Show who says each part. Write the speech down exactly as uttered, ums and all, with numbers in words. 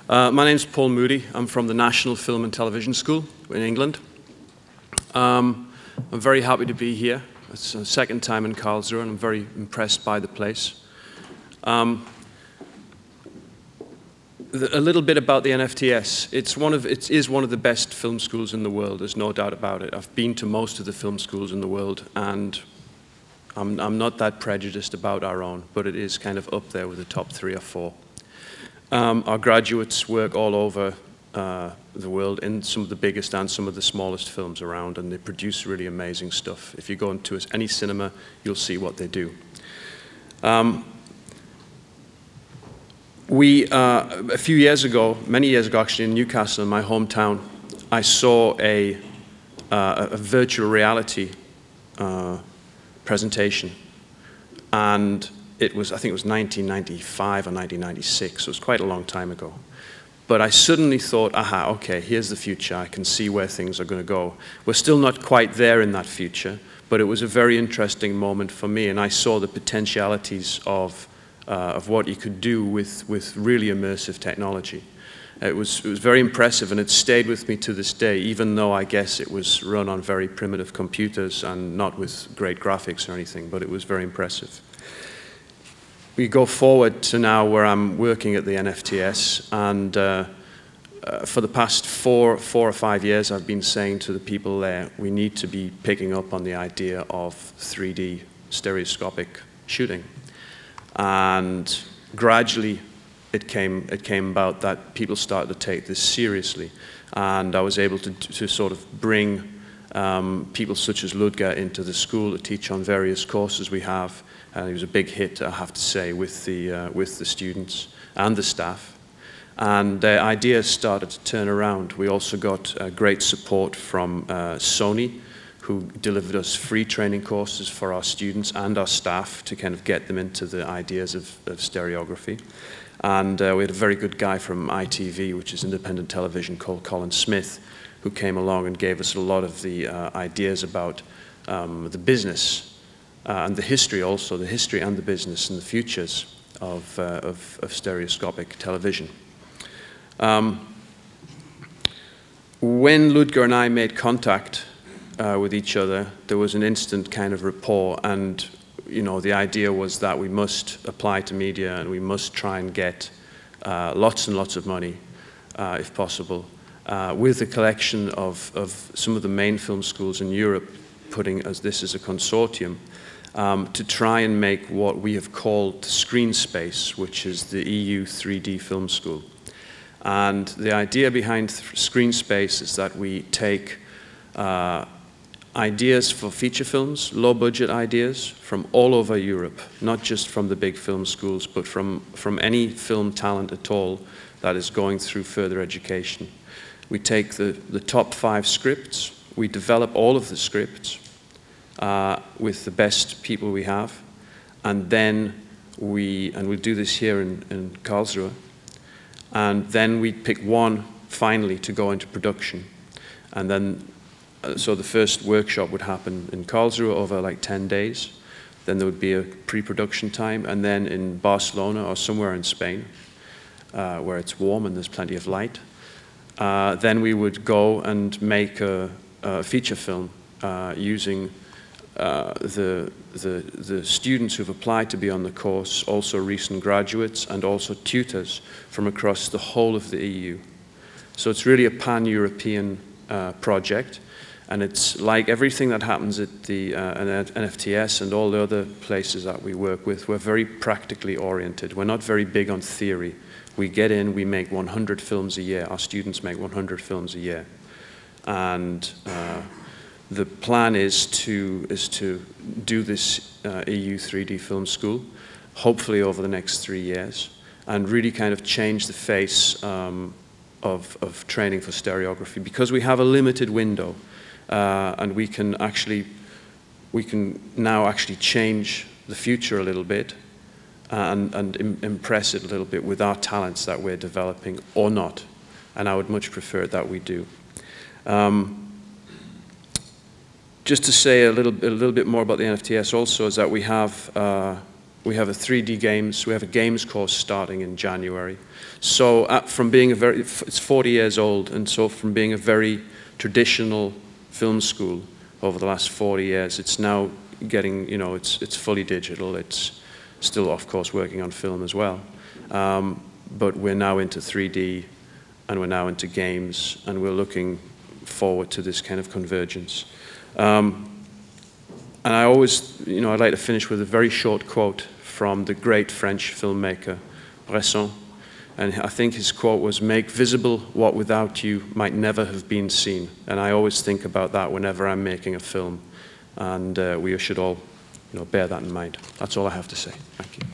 Speaker 1: Uh, my name's Paul Moody. I'm from the National Film and Television School in England. Um, I'm very happy to be here. It's the second time in Karlsruhe, and I'm very impressed by the place. Um, the, a little bit about the N F T S. It's one of, it is one of the best film schools in the world, there's no doubt about it. I've been to most of the film schools in the world, and I'm, I'm not that prejudiced about our own, but it is kind of up there with the top three or four. Um, our graduates work all over uh, the world in some of the biggest and some of the smallest films around, and they produce really amazing stuff. If you go into any cinema, you'll see what they do. Um, we, uh, a few years ago, many years ago actually, in Newcastle, in my hometown, I saw a, uh, a virtual reality uh, presentation, and it was, I think it was nineteen ninety-five or nineteen ninety-six, so it was quite a long time ago. But I suddenly thought, aha, okay, here's the future, I can see where things are going to go. We're still not quite there in that future, but it was a very interesting moment for me, and I saw the potentialities of, uh, of what you could do with, with really immersive technology. It was, it was very impressive, and it stayed with me to this day, even though I guess it was run on very primitive computers and not with great graphics or anything, but it was very impressive. We go forward to now where I'm working at the N F T S, and uh, uh, for the past four, four or five years I've been saying to the people there, we need to be picking up on the idea of three D stereoscopic shooting. And gradually it came, it came about that people started to take this seriously, and I was able to, to sort of bring um, people such as Ludger into the school to teach on various courses we have. And it was a big hit, I have to say, with the, uh, with the students and the staff. And the ideas started to turn around. We also got uh, great support from uh, Sony, who delivered us free training courses for our students and our staff to kind of get them into the ideas of, of stereography. And uh, we had a very good guy from I T V, which is independent television, called Colin Smith, who came along and gave us a lot of the uh, ideas about um, the business. Uh, and the history also, the history and the business and the futures of, uh, of, of stereoscopic television. Um, when Ludger and I made contact uh, with each other, there was an instant kind of rapport, and you know, the idea was that we must apply to media and we must try and get uh, lots and lots of money, uh, if possible, uh, with the collection of, of some of the main film schools in Europe, putting as this as a consortium. Um, to try and make what we have called Screen Space, which is the E U three D Film School. And the idea behind Screen Space is that we take uh, ideas for feature films, low-budget ideas, from all over Europe, not just from the big film schools, but from, from any film talent at all that is going through further education. We take the, the top five scripts, we develop all of the scripts, Uh, with the best people we have, and then we, and we'll do this here in, in Karlsruhe, and then we pick one finally to go into production. And then, uh, so the first workshop would happen in Karlsruhe over like ten days, then there would be a pre-production time, and then in Barcelona or somewhere in Spain, uh, where it's warm and there's plenty of light, uh, then we would go and make a, a feature film uh, using Uh, the, the, the students who've applied to be on the course, also recent graduates, and also tutors from across the whole of the E U. So it's really a pan-European uh, project, and it's like everything that happens at the uh, N F T S and all the other places that we work with. We're very practically oriented. We're not very big on theory. We get in, we make one hundred films a year. Our students make one hundred films a year. And uh, the plan is to, is to do this uh, E U three D film school, hopefully over the next three years, and really kind of change the face um, of, of training for stereography, because we have a limited window, uh, and we can actually, we can now actually change the future a little bit and, and im impress it a little bit with our talents that we're developing, or not. And I would much prefer that we do. Um, Just to say a little, a little bit more about the N F T S also, is that we have, uh, we have a three D games, we have a games course starting in January. So uh, from being a very, it's forty years old, and so from being a very traditional film school over the last forty years, it's now getting, you know, it's, it's fully digital. It's still, of course, working on film as well. Um, but we're now into three D, and we're now into games, and we're looking forward to this kind of convergence. Um, and I always, you know, I'd like to finish with a very short quote from the great French filmmaker, Bresson. And I think his quote was, "Make visible what without you might never have been seen." And I always think about that whenever I'm making a film. And uh, we should all, you know, bear that in mind. That's all I have to say. Thank you.